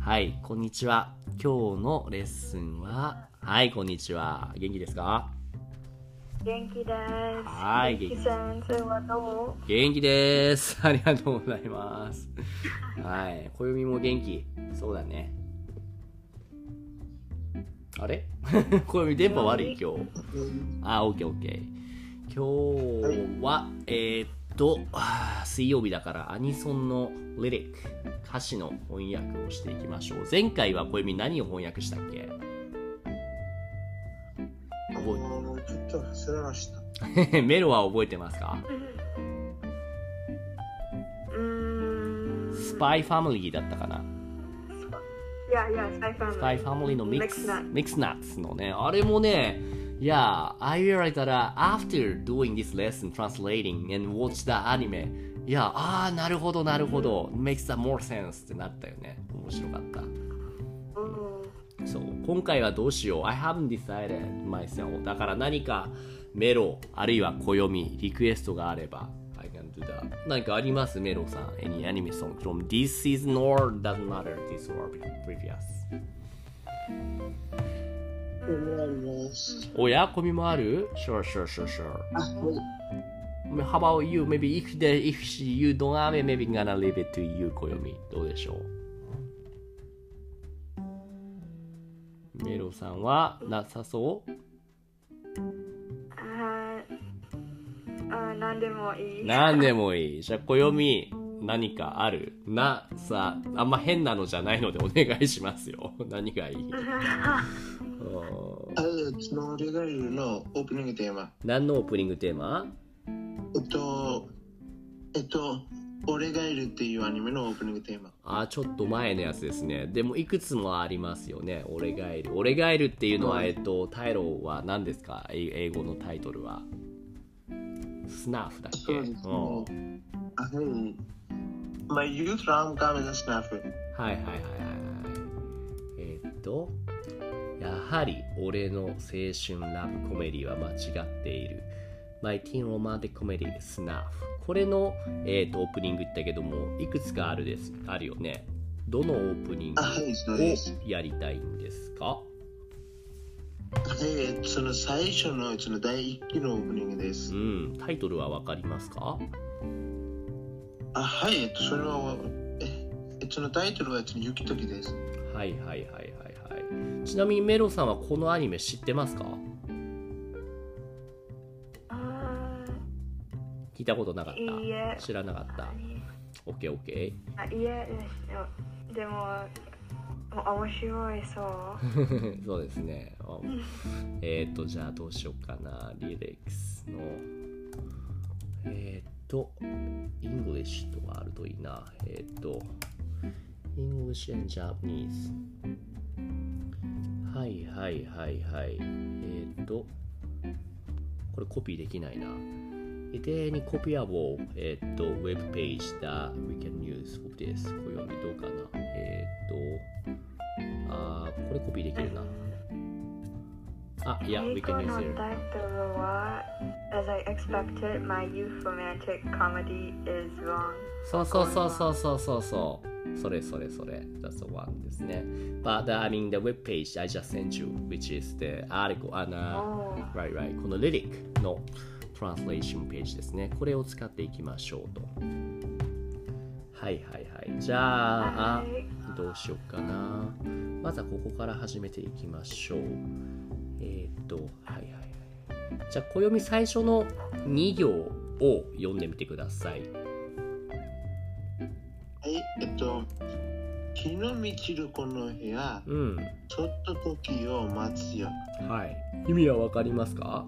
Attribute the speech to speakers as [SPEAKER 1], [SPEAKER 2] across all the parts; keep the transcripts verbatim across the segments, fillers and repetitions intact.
[SPEAKER 1] はい、こんにちは。今日のレッスンは、はい、こんにちは。元気ですか？
[SPEAKER 2] 元気です。
[SPEAKER 1] はい、
[SPEAKER 2] 元気先生はどう？
[SPEAKER 1] 元気です。ありがとうございます。はい、暦も元気。そうだね。あれ暦電波悪い今日。あ、オッケーオッケー。今日は、えー、っと、水曜日だからアニソンのリリック、歌詞の翻訳をしていきましょう。前回は暦何を翻訳したっけ？
[SPEAKER 3] 覚えちょっと忘れました。
[SPEAKER 1] メロは覚えてますか？スパイファミリーだったかな。
[SPEAKER 2] いやいや、スパイファミリー。
[SPEAKER 1] スパイファミリーのミックス、ミックスナッツのね、あれもね、いや、I realized that after doing this lesson, translating and watch the anime, いや、あー、なるほど、なるほど、makes that more sense ってなったよね。面白かった。そう、今回はどうしよう。I haven't decided myself. だから何かメロ、あるいは暦、リクエストがあれば、I can do that. 何かありますメロさん。Any anime song from this season or doesn't matter, this or previous? おや、コミもある？ Sure, sure, sure, sure. How about you? Maybe if, the, if you don't have it, maybe gonna leave it to you, コヨミ。どうでしょう？メロさんはなさそう？
[SPEAKER 2] ああ、何でもいい。
[SPEAKER 1] 何でもいい。じゃあ、コヨミ、何かある？な、さ、あんま変なのじゃないのでお願いしますよ。何がいい？
[SPEAKER 3] あれ、その俺がいるのオープニングテーマ。
[SPEAKER 1] 何のオープニングテーマ？
[SPEAKER 3] えっと、えっと、俺がいるっていうアニメのオープニングテーマ。
[SPEAKER 1] あ、ちょっと前のやつですね。でもいくつもありますよね。俺がいる。俺がいるっていうのは、えっと、タイトルは何ですか？英語のタイトルは。スナフだっけ？
[SPEAKER 3] そうですね。あ、はい。My youth rom-com is a snafu.
[SPEAKER 1] はいはいはいはいはい。えー、っと、やはり俺の青春ラブコメディは間違っている。My teen romantic comedy Snuff。これの、えー、とオープニング言ったけども、いくつかあるです、あるよね。どのオープニングをやりたいんですか？
[SPEAKER 3] はい、その最初のその第一期のオープニングです。
[SPEAKER 1] うん、タイトルはわかりますか？
[SPEAKER 3] あ、はい、それは、え、そのタイトルはゆきときです。
[SPEAKER 1] はいはいはいはいはい。ちなみにメロさんはこのアニメ知ってますか？聞いたことなかった？
[SPEAKER 2] いいえ。
[SPEAKER 1] 知らなかった。オッケーオッケ
[SPEAKER 2] ー。あ、いいえ、でも、面白いそう。
[SPEAKER 1] そうですね。えっと、じゃあどうしようかな。リレックスの、えっと、イングリッシュとかあるといいな。えっと、English and Japanese。はいはいはいはい。えっと、これコピーできないな。で、any copyable、えっと、ウェブページ that we can use for this。これ読みどうかな。えっと、あー、これコピーできるな。あ、いや、we can use it。
[SPEAKER 2] 英語のタイトルは As I expected, my youth romantic comedy is wrong。
[SPEAKER 1] そうそうそうそうそうそうそう。それそれそれ。That's the one ですね。But the, I mean the web page I just sent you, which is the article, and、uh, right right このリリックのトランスレーションページですね。これを使っていきましょうと。はいはいはい。じゃあ、はい、どうしようかな。まずはここから始めていきましょう。えー、っと、はいはいはい。じゃあ、暦最初のに行を読んでみてください。
[SPEAKER 3] はい、えっと、日の満ちるこの部屋、うん、ちょっと時を待つよ。
[SPEAKER 1] はい。意味はわかりますか？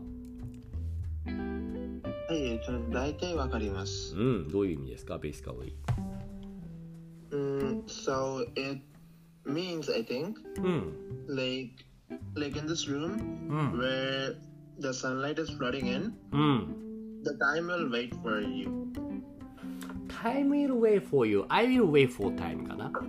[SPEAKER 3] はい、大体わかります。
[SPEAKER 1] うん、どういう意味ですか、basically?
[SPEAKER 3] Um, so it means, I think, うん、like, like in this room、うん、where the sunlight is flooding in、うん、the time will wait for you.
[SPEAKER 1] Time will wait for you. I will wait for time かな。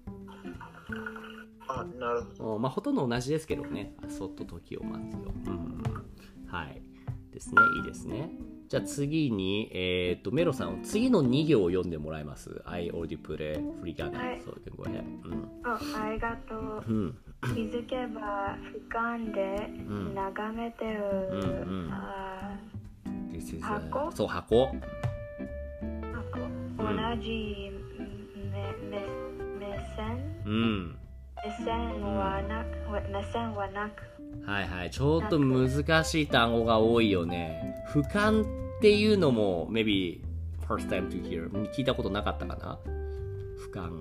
[SPEAKER 3] あ、なるほど。
[SPEAKER 1] まあ、ほとんど同じですけどね。そっと時を待つよ。うん、はい。ですね。いいですね。 じゃあ次に、えー、っとメロさん次のに行を読んでもらえます？ I already put it free gun、はい、so you can go ahead、うん、
[SPEAKER 2] ありがとう、うん、気づけば俯瞰で眺めてる、うんうん、あ箱
[SPEAKER 1] そう箱、
[SPEAKER 2] 箱同じ目、目、目線、うん、目線はなく、目線はなく、
[SPEAKER 1] はいはい、ちょっと難しい単語が多いよね。俯瞰っていうのも maybe first time to hear 聞いたことなかったかな。俯瞰、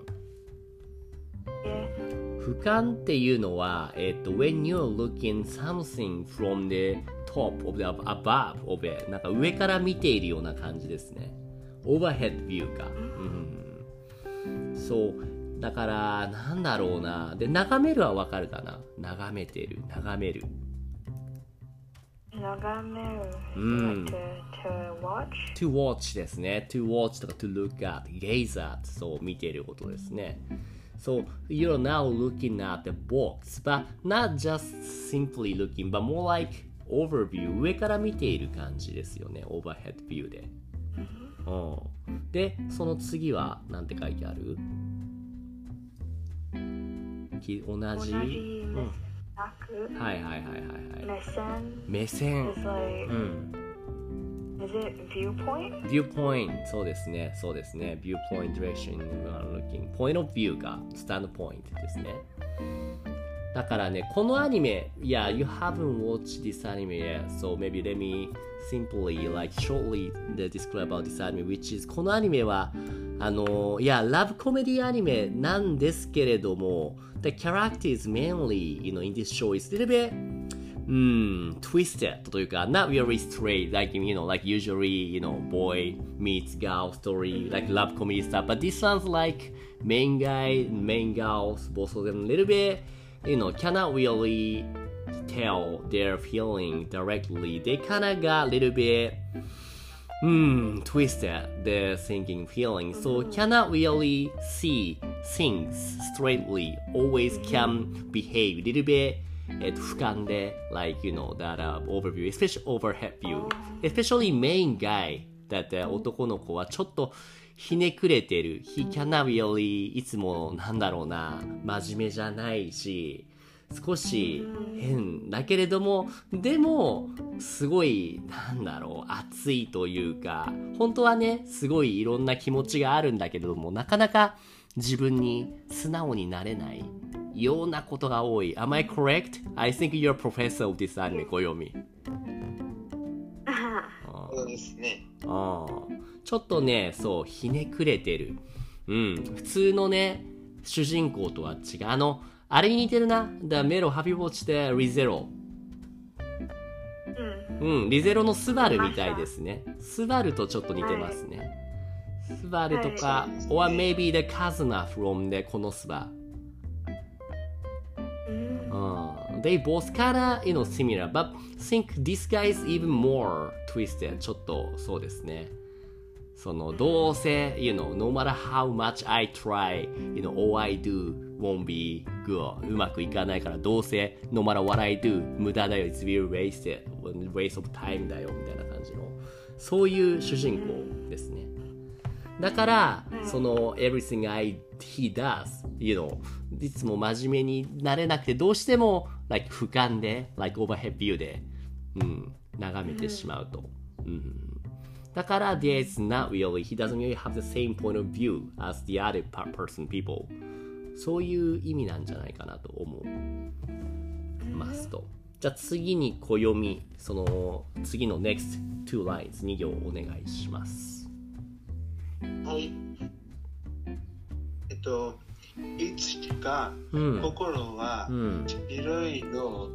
[SPEAKER 1] 俯瞰っていうのは、えっと when you're looking something from the top of the above of it なんか上から見ているような感じですね。overhead view か、うん、そうだからなんだろうな。で眺めるはわかるかな。眺めてる、眺める、
[SPEAKER 2] 眺める、うん、to, to watch
[SPEAKER 1] to watch ですね。 to watch とか to look at gaze at そう見ていることですね。So you're now looking at the box but not just simply looking but more like overview 上から見ている感じですよね。 overhead view で、うん、でその次はなんて書いてある？同じ、
[SPEAKER 2] 同じ、うん、
[SPEAKER 1] はいはいはいはいはい。
[SPEAKER 2] 目線、
[SPEAKER 1] 目線、
[SPEAKER 2] like, うん。Is it viewpoint?
[SPEAKER 1] viewpoint そうですね、そうですね。viewpoint direction looking point of view が standpoint ですね。だからね、このアニメ、yeah, you haven't watched this anime yet, so maybe let me simply like shortly describe about this anime, which is このアニメはあのいやラブコメディアニメなんですけれども、the characters mainly, you know, in this show is a little bit, um, twisted というか not really straight, like you know, like usually, you know, boy meets girl story, like love comedy stuff, but this one's like main guy, main girls, both of them a little bit, you know, cannot really tell their feeling directly. They kinda got a little bit,Hmm, twisted their thinking feeling, so cannot really see things straightly, always can behave a little bit えっと俯瞰で like you know that、uh, overview, especially overhead view, especially main guy that、uh, 男の子はちょっとひねくれてる。 He cannot really いつもなんだろうな真面目じゃないし少し変だけれども、でもすごいなんだろう熱いというか、本当はねすごいいろんな気持ちがあるんだけれども、なかなか自分に素直になれないようなことが多い。 Am I correct? I think you're a professor of this anime, 小読み。
[SPEAKER 3] そうですね。
[SPEAKER 1] あちょっとねそうひねくれてる。うん普通のね主人公とは違う。あのあれに似てるな。The Mero, have you watched the ReZero? うん、うん、リゼロのスバルみたいですね。スバルとちょっと似てますね。はい、スバルとか、はい、or maybe the Kazuna from the このスバ。うん、they both kinda, you know, similar, but think this guy is even more twisted. ちょっとそうですね。そのどうせ you know no matter how much I try you know all I do won't be good うまくいかないからどうせ no matter what I do 無駄だよ it's really wasted waste of time だよみたいな感じのそういう主人公ですね。だからその everything I he does you know いつも真面目になれなくてどうしても like 俯瞰で like overhead view で、うん、眺めてしまうと、うんだから there's not really, he doesn't really have the same point of view as the other person, people. そういう意味なんじゃないかなと思いますと。じゃあ次に小読み、その次の next two lines に行お願いします。
[SPEAKER 3] はい。えっと、いつしか心は白いの、うん、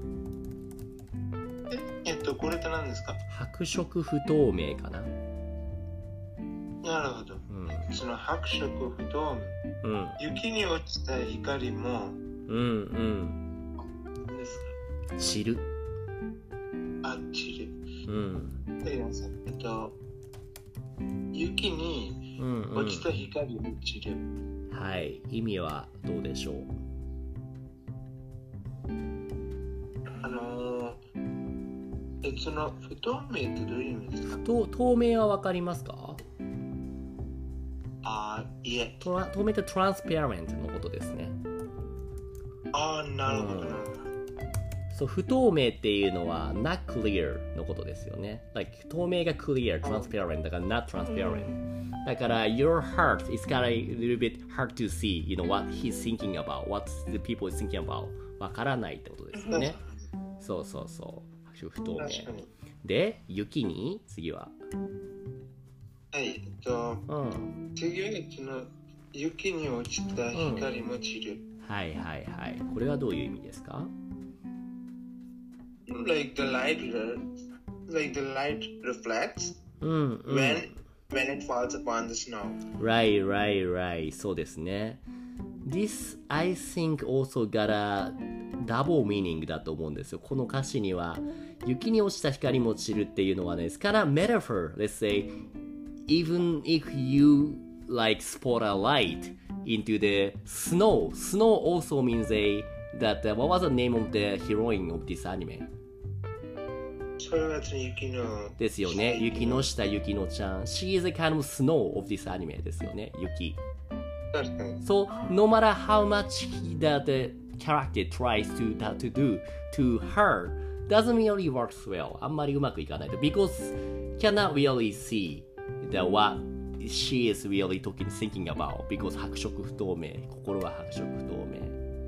[SPEAKER 3] え、えっと、これって何ですか？
[SPEAKER 1] 白色不透明かな。
[SPEAKER 3] なるほど、うん、その白色不透明、うん、雪に落ちた光もうんうん何ですか？
[SPEAKER 1] 散る
[SPEAKER 3] あ、散るうんえっと雪に落ちた光も散る、うん
[SPEAKER 1] うん、はい意味はどうでしょう？
[SPEAKER 3] あのー、 え、その不透明ってどういう意味ですか？
[SPEAKER 1] と透明はわかりますか？
[SPEAKER 3] あ、いえ。
[SPEAKER 1] トラ透明ってトランスペアレントのことですね。
[SPEAKER 3] あ、なるほど。うん、
[SPEAKER 1] そう、不透明っていうのは not clear のことですよね。Like 透明が clear, transparent だから not transparent。だから your heart is kind of a little bit hard to see, you know, what he's thinking about, what the people is thinking about. わからないってことですよね。そうそうそう。不透明。で、雪に次は。
[SPEAKER 3] はい、えっと、うん、次はその雪に落ちた光も散る。
[SPEAKER 1] うん、はいはいはい。これはどういう意味ですか？
[SPEAKER 3] Like the light, like the light reflects、うんうん、when, when it falls upon the snow.
[SPEAKER 1] Right, right, right. そうですね。This, I think, also got a double meaning だと思うんですよ。この歌詞には、雪に落ちた光も散るっていうのはね、it's kind of metaphor. Let's say, even if you like spot a light into the snow, snow also means a, that, uh, what was the name of the heroine of this anime?
[SPEAKER 3] それは雪の
[SPEAKER 1] ですよね。雪の下、雪のちゃん。She is a kind of snow of this anime ですよね。雪。So, no matter how much he, that the character tries to, that, to do to her, doesn't really work well. あんまりうまくいかないと。Because cannot really see the what she is really talking, thinking about. Because 白色不透明。心は白色不透明。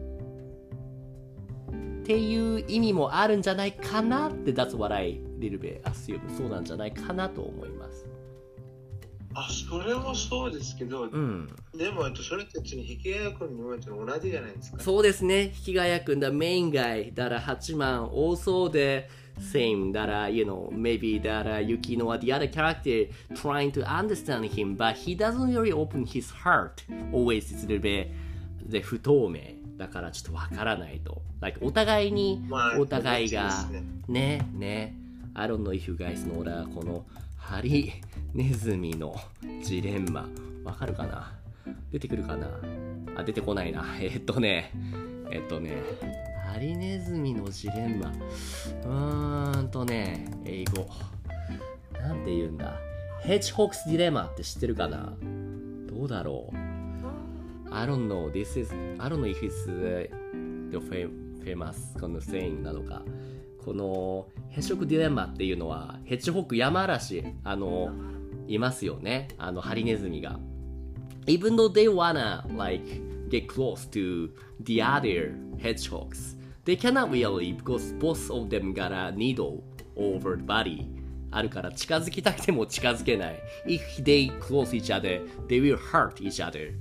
[SPEAKER 1] っていう意味もあるんじゃないかなって、That's what I little bit assume. そうなんじゃないかなと思います。
[SPEAKER 3] あ、それもそうですけど、うん、でもそれたちに引き換え君にも同じじゃないですか。
[SPEAKER 1] そうですね。引き換え君だ、main guy だらはちまん also the same だら you know maybe だら Yukino or the other character trying to understand him but he doesn't really open his heart always it's a little bit で不透明だからちょっとわからないと like お互いに、まあ、お互いがねね I don't know if you guys know だこのハリネズミのジレンマわかるかな出てくるかなあ出てこないなえー、っとねえー、っとねハリネズミのジレンマうーんとね英語なんて言うんだヘッジホックスディレマって知ってるかなどうだろう I don't know this is I don't know if it's the, the famous この saying なのかこのヘッジホックディレンマっていうのはヘッジホック山嵐あのいますよねあのハリネズミが Even though they wanna like get close to the other hedgehogs they cannot really because both of them got a needle over the body あるから近づきたくても近づけない If they close each other they will hurt each other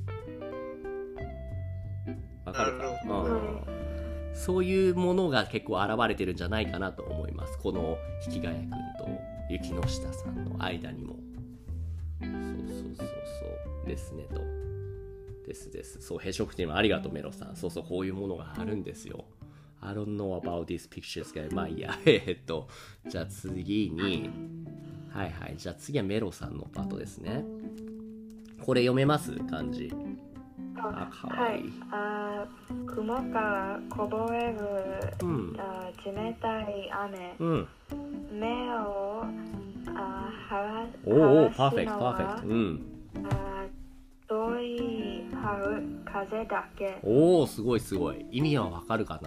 [SPEAKER 1] わかるか、うんそういうものが結構現れてるんじゃないかなと思います。この引き換え君と雪の下さんの間にも。そうそうそうそうですねと。ですです。そう、閉食っていうのはありがとうメロさん。そうそう、こういうものがあるんですよ。I don't know about these pictures が、まあいいや。えっと、じゃあ次に、はいはい。じゃあ次はメロさんのパートですね。これ読めます漢字。
[SPEAKER 2] あ、かわいい。はい、あ雲からこぼれる、うん、あ冷たい雨、うん、目をあ晴らすのはおおパーフェクトパーフェクト、うん、あ遠い春風だけ
[SPEAKER 1] おおすごいすごい意味はわかるかな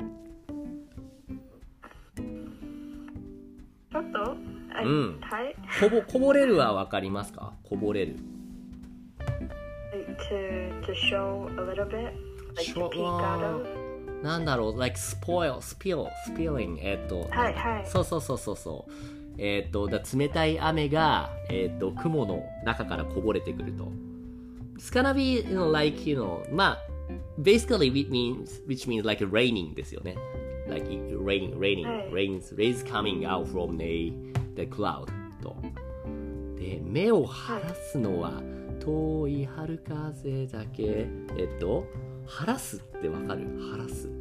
[SPEAKER 2] ちょっと、
[SPEAKER 1] うん、はい、こぼこぼれるはわかりますかこぼれる
[SPEAKER 2] To, to show a little bit, like to peek out of.
[SPEAKER 1] なんだろう、like spoil, spill, spilling. えっと、はいはい。そうそうそうそうそう。えっと、だ冷たい雨が、えっと、雲の中からこぼれてくると。It's gonna be, you know, like, you know, まあ、basically, which means, which means like raining ですよね。Like raining, raining, rains, rains coming out from the, the cloud と。で、目を晴らすのは、はい遠い春風だけえっと晴らすってわかる晴らす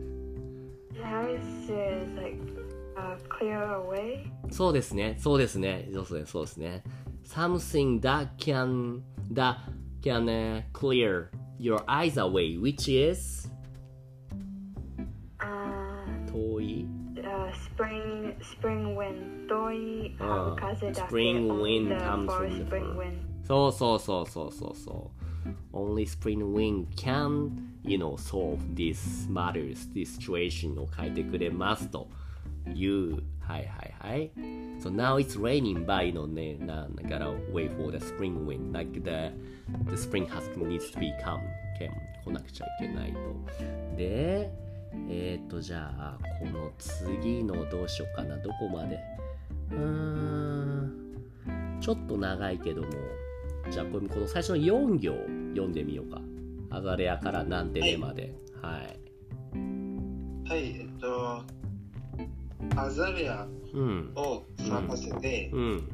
[SPEAKER 2] is like, uh, clear away
[SPEAKER 1] そうですねそうですねそうですねそうですね something that can that can、uh, clear your eyes away which is、uh, 遠い、
[SPEAKER 2] uh, spring, spring wind 遠い風だけ
[SPEAKER 1] Spring wind comes
[SPEAKER 2] for
[SPEAKER 1] from the
[SPEAKER 2] spring wind
[SPEAKER 1] そうそうそうそうそうそう Only spring wind can, you know, solve these matters, this situation を書いてくれますというはいはいはい So now it's raining by, you know, ね、な、gotta wait for the spring wind like the, the spring has needs to be come 来なくちゃいけないとでえっ、ー、とじゃあこの次のどうしようかなどこまでうーんちょっと長いけどもじゃあこの最初のよん行読んでみようかアザレアからなんてねまではい
[SPEAKER 3] はい、はい、えっとアザレアを咲かせて、うんうん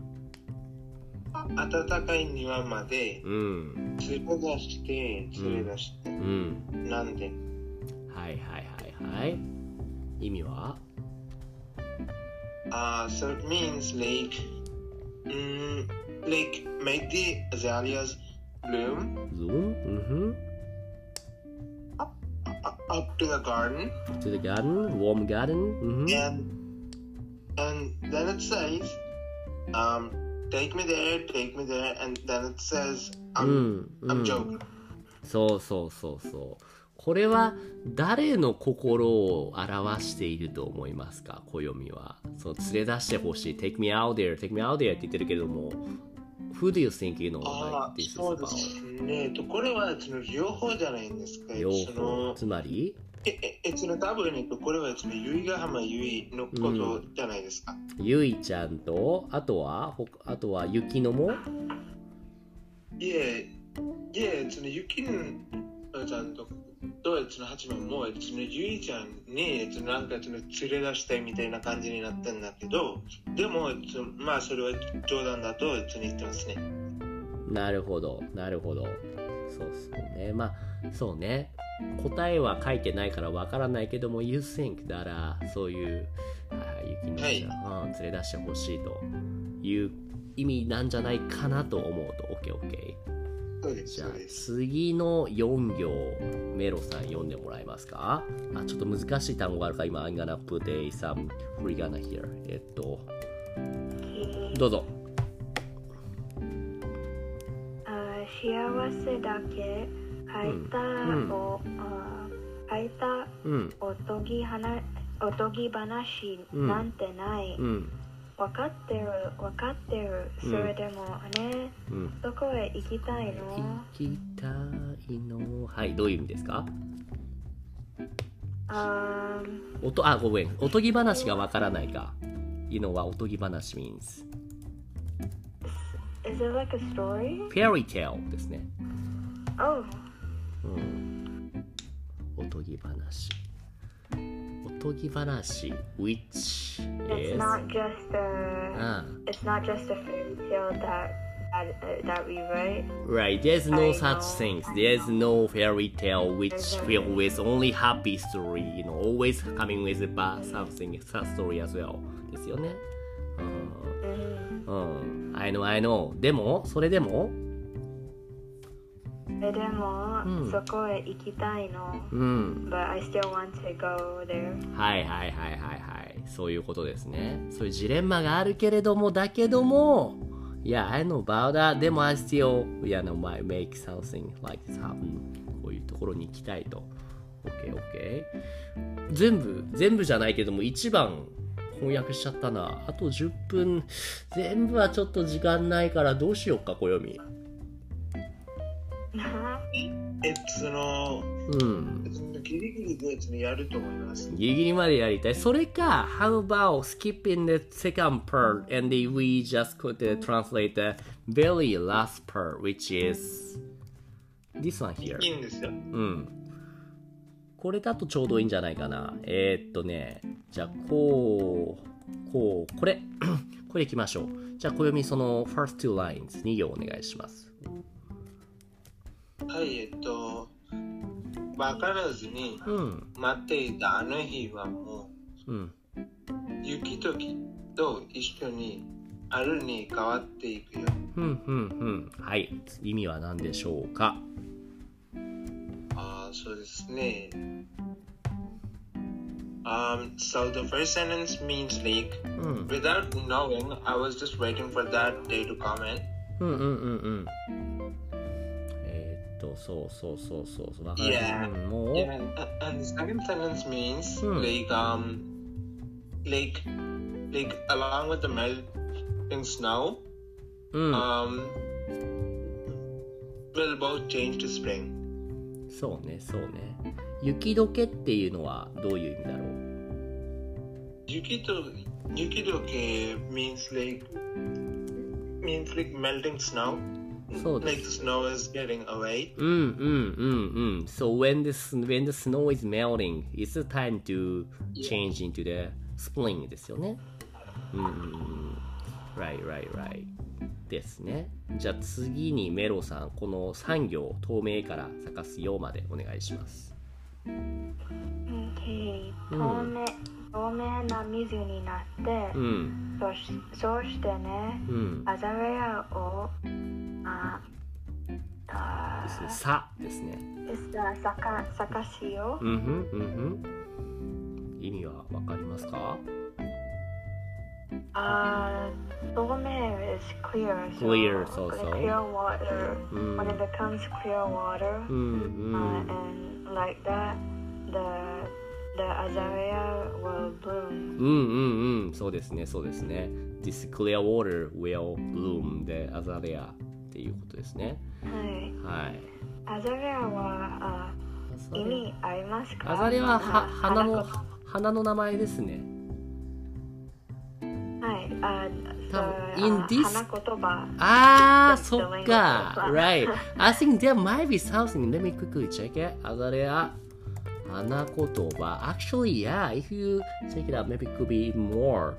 [SPEAKER 3] 暖かい庭まで連れ出して連れ出して、うん、なんで
[SPEAKER 1] はいはいはいはい意味は
[SPEAKER 3] あ、uh, so it means like um, like make the azaleas bloom
[SPEAKER 1] bloom mm-hmm.
[SPEAKER 3] up, up, up to the garden
[SPEAKER 1] to the garden warm garden mm-hmm.
[SPEAKER 3] and and then it says um Take me there, take me there, and then it says, I'm, うん、I'm joking.
[SPEAKER 1] そうそうそうそう。これは誰の心を表していると思いますか、暦は。そう連れ出してほしい。Take me out there, take me out there って言ってるけども、Who do you think you know?
[SPEAKER 3] ああ、そうですね。これはその両方じゃないんですか。
[SPEAKER 1] 両方。つまり
[SPEAKER 3] え、え、その多分ね、これはその由比ヶ浜由比のことじゃないですか。
[SPEAKER 1] ゆいちゃんと、あとは、あとは雪のも
[SPEAKER 3] いえ、いえ、その雪のちゃんと、とその八番も、そのゆいちゃんに、そのなんかその連れ出したいみたいな感じになってんだけど、でも、そのまあそれは冗談だとその言ってますね。
[SPEAKER 1] なるほど、なるほど。そうそうね。まあ、そうね。答えは書いてないからわからないけども You think だらそういう雪のちゃん、はい、連れ出してほしいという意味なんじゃないかなと思うと OKOK
[SPEAKER 3] そうです。
[SPEAKER 1] じゃあ次のよん行メロさん読んでもらえますかあちょっと難しい単語があるから今 I'm gonna put a some free gonna here えっとどうぞ
[SPEAKER 2] あ幸せだけ書いたを、うん、書いたおとぎ話、おとぎ話なんてない、うん、分かってる分かってる、うん、それでもね、うん、どこへ行きたいの
[SPEAKER 1] 行きたいのはいどういう意味ですか
[SPEAKER 2] あ
[SPEAKER 1] おとあごめんおとぎ話が分からないかいうのはおとぎ話 means
[SPEAKER 2] Is it like a story?
[SPEAKER 1] Fairy tale ですね
[SPEAKER 2] Oh
[SPEAKER 1] うん、おとぎ話おとぎ話 which is
[SPEAKER 2] It's not just a、uh, It's not just a fairy tale that, that, that we write
[SPEAKER 1] Right, there's no I such know. things There's no fairy tale which filled with only happy story You know, always coming with a bad something sad story as well ですよねうん、うん、I know, I know でも、それでも
[SPEAKER 2] でも、うん、そこへ行きたいの、うん、But I still want to go there
[SPEAKER 1] はいはいはいはいはいそういうことですねそういうジレンマがあるけれどもだけども Yeah, I know about that でも I still yeah, no, might make something like this happen こういうところに行きたいと OKOK 全部全部じゃないけども一番翻訳しちゃったなあとじゅっぷん全部はちょっと時間ないからどうしようか暦
[SPEAKER 3] えその、うん、ギリギリでやると思います。
[SPEAKER 1] ギリギリまでやりたい。それか、How about skipping the second part and we just could translate the very last part, which is this one here.
[SPEAKER 3] いいんですよ。う
[SPEAKER 1] ん。これだとちょうどいいんじゃないかな。えー、っとね、じゃあこう、こう、これ、これいきましょう。じゃあ暦その first two lines に行お願いします。
[SPEAKER 3] はい、えっと、分からずに待っていたあの日はもう、うん、雪ときと一緒に春に変わっていくよ。
[SPEAKER 1] うんうんうん。はい、意味は何でしょうか。
[SPEAKER 3] ああ、そうですね。 Um, so the first sentence means like, mm. without knowing, I was just waiting for that day to come in.
[SPEAKER 1] うんうんうんうん。えー、っと、そうそうそうそう。わかる。
[SPEAKER 3] Yeah.
[SPEAKER 1] うん、もう。
[SPEAKER 3] Yeah. And the second sentence means、うん、like um, like like along with the melting snow, うん、um, will both change to spring.
[SPEAKER 1] そうねそうね。雪解けっていうのはどういう意味だろう？
[SPEAKER 3] 雪と雪解け means like means like melting snow.
[SPEAKER 1] そうです。
[SPEAKER 3] Like the snow is getting away.
[SPEAKER 1] うんうんうんうん。So when the when the snow is melting, it's the time to change into the spring ですよね。うんうんうん。Right right right ですね。じゃあ次にメロさん、このさん行透明から咲かすようまでお願いします。
[SPEAKER 2] Okay. 透明、透明な水になって、うん、そ, しそうしてね、うん、アザレアをああ
[SPEAKER 1] ですね、さですね。
[SPEAKER 2] さか咲かしよう。
[SPEAKER 1] うんふんうんふん。意味はわかりますか？
[SPEAKER 2] ああ、透明 is clear. So
[SPEAKER 1] clear, so so.
[SPEAKER 2] Clear water. Mm. When it becomes clear water, mm, mm. Uh, and like that, the the azalea will bloom.
[SPEAKER 1] うんうんうん、そうですね、そうですね。This clear water will bloom the azalea っていうことですね。
[SPEAKER 2] はい。
[SPEAKER 1] はい。
[SPEAKER 2] アザレアはあ意味ありますか？
[SPEAKER 1] アザレアはは花の花の名前ですね。
[SPEAKER 2] はい。あ、
[SPEAKER 1] in this
[SPEAKER 2] 花言葉。
[SPEAKER 1] ああ、そっか。Right. I think there might be something. Let me quickly check it. アザレア。花言葉 Actually, yeah, if you check it out, maybe it could be more.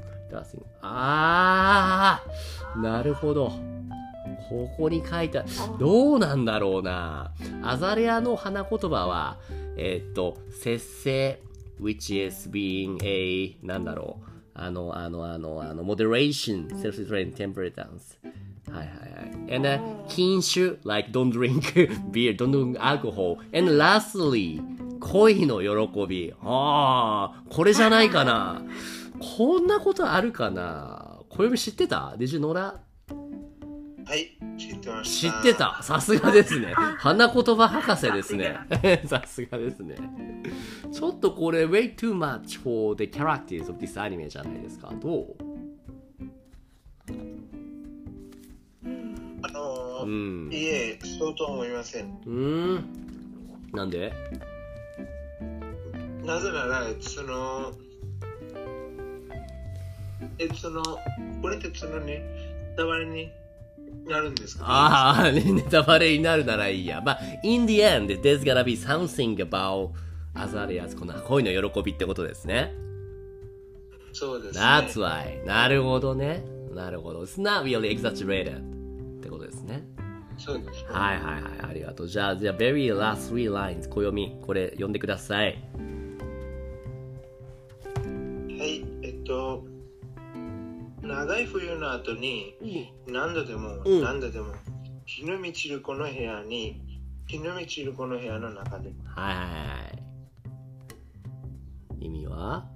[SPEAKER 1] あー、なるほど。ここに書いた。どうなんだろうな。アザレアの花言葉は、えー、っと、節制、which is being a, なんだろう。あの、あの、あの、あの、moderation, self-restraint, temperance. はいはいはい。And、uh, 禁酒 like don't drink beer, don't drink alcohol. And lastly, 恋の喜び。ああ、これじゃないかな。こんなことあるかな。小知ってた？ Did you know that?
[SPEAKER 3] はい、知ってました。
[SPEAKER 1] 知ってた。さすがですね。花言葉博士ですね。さすがですね。ちょっとこれ way too much for the characters of this anime じゃないですか。どう？
[SPEAKER 3] あのー、うん、いえ、そうと思いません。
[SPEAKER 1] うん。なんで？
[SPEAKER 3] なぜなら、その、え、その、これってそのね、ネタバレになるんですか？
[SPEAKER 1] ああ、ネタバレになるならいいや。まあ、in the end, there's gotta be something about Azalea's この恋の喜びってことですね。
[SPEAKER 3] そうですね。
[SPEAKER 1] That's why. なるほどね。なるほど。It's not really exaggerated ってことですね。
[SPEAKER 3] そうですね。
[SPEAKER 1] はいはいはい。ありがとう。じゃあ、じゃあ、very last three lines 暦、これ読んでください。
[SPEAKER 3] はい、えっと、長い冬の後に、何度でも、うん、何度でも、日の満ちるこの部屋に、日の満ちるこの部屋の中で。
[SPEAKER 1] はいはいはい。意味は？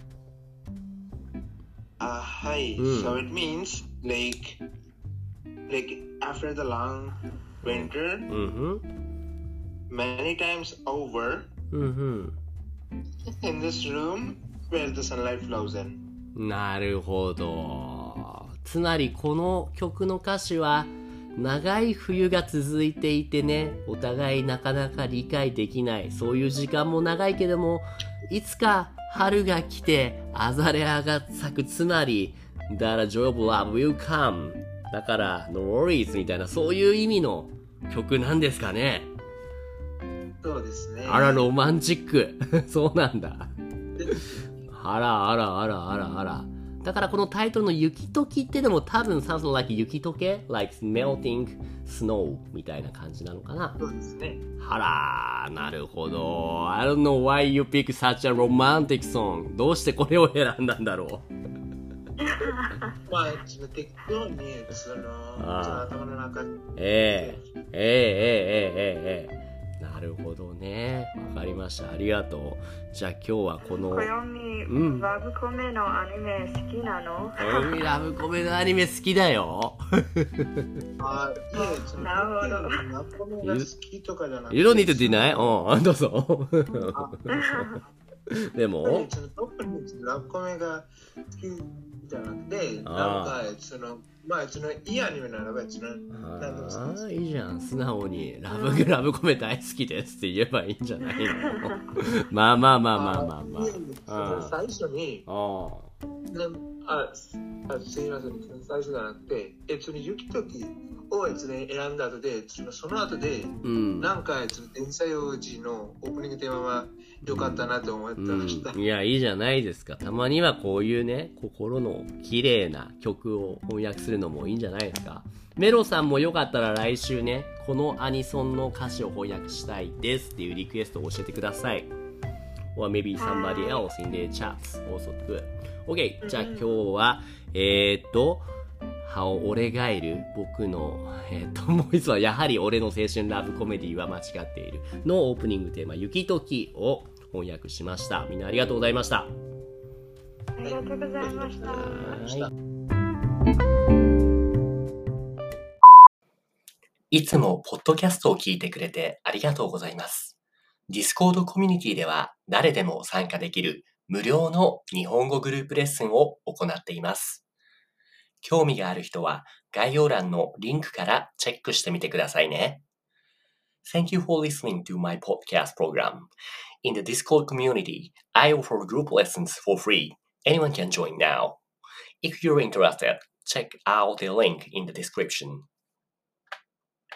[SPEAKER 3] あ、はい。うん、so it means, like, like, after the long winter,
[SPEAKER 1] mm-hmm.
[SPEAKER 3] many times over,
[SPEAKER 1] mm-hmm.
[SPEAKER 3] in this room, where the sunlight flows in.
[SPEAKER 1] なるほど。つまりこの曲の歌詞は長い冬が続いていてね、お互いなかなか理解できない、そういう時間も長いけども、いつか春が来てアザレアが咲く、つまり The joy of love will come だから No worries みたいな、そういう意味の曲なんですかね。
[SPEAKER 3] そうですね。
[SPEAKER 1] あらロマンチックそうなんだあらあらあらあらあら。だからこのタイトルの雪解きってのも多分 something like 雪解け like melting snow みたいな感じなのかな。
[SPEAKER 3] そうですね。
[SPEAKER 1] はらー、なるほど。I don't know why you pick such a romantic song. どうしてこれを選んだんだろう
[SPEAKER 3] まあ、適当にその頭の中に。
[SPEAKER 1] ええええええええええ。 なるほどね。わかりました。ありがとう。じゃあ今日はこの。
[SPEAKER 2] こよみ、うん、ラブコメのアニメ好きなの？
[SPEAKER 1] こよみラブコメのアニメ好きだよ。
[SPEAKER 3] あ、いえ、
[SPEAKER 2] なるほど。
[SPEAKER 3] ラブコメが好きとかじゃなくて。
[SPEAKER 1] You don't need to deny? うん、どうぞ。でも、
[SPEAKER 3] 特にラブコメが好きじゃなくて、なんかその、まあそのいいアニメならばその何でも好きです。
[SPEAKER 1] ああ、いいじゃん。素直にラブラブコメ大好きですって言えばいいんじゃないの？まあまあまあまあまあまあ。
[SPEAKER 3] あ最初に、ああ、すみません、最初じゃなくて、えその雪時を選んだ後で、その後で、うん、なんか天才王子のオープニングテーマはよかったなと思ってました、
[SPEAKER 1] うん、いやいいじゃないですか。たまにはこういうね心の綺麗な曲を翻訳するのもいいんじゃないですか。メロさんもよかったら来週ねこのアニソンの歌詞を翻訳したいですっていうリクエストを教えてください。 or maybe somebody else in the chats also good. OK、 じゃあ今日はえー、っと俺がいる僕の、えー、っともう一つはやはり俺の青春ラブコメディは間違っているのオープニングテーマ雪時を翻訳しました。みんなありがとうございました。
[SPEAKER 2] ありがとうございました。はい、
[SPEAKER 1] いつもポッドキャストを聞いてくれてありがとうございます。Discord コミュニティでは誰でも参加できる無料の日本語グループレッスンを行っています。興味がある人は概要欄のリンクからチェックしてみてくださいね。Thank you for listening to my podcast program. In the Discord community, I offer group lessons for free. Anyone can join now. If you're interested, check out the link in the description.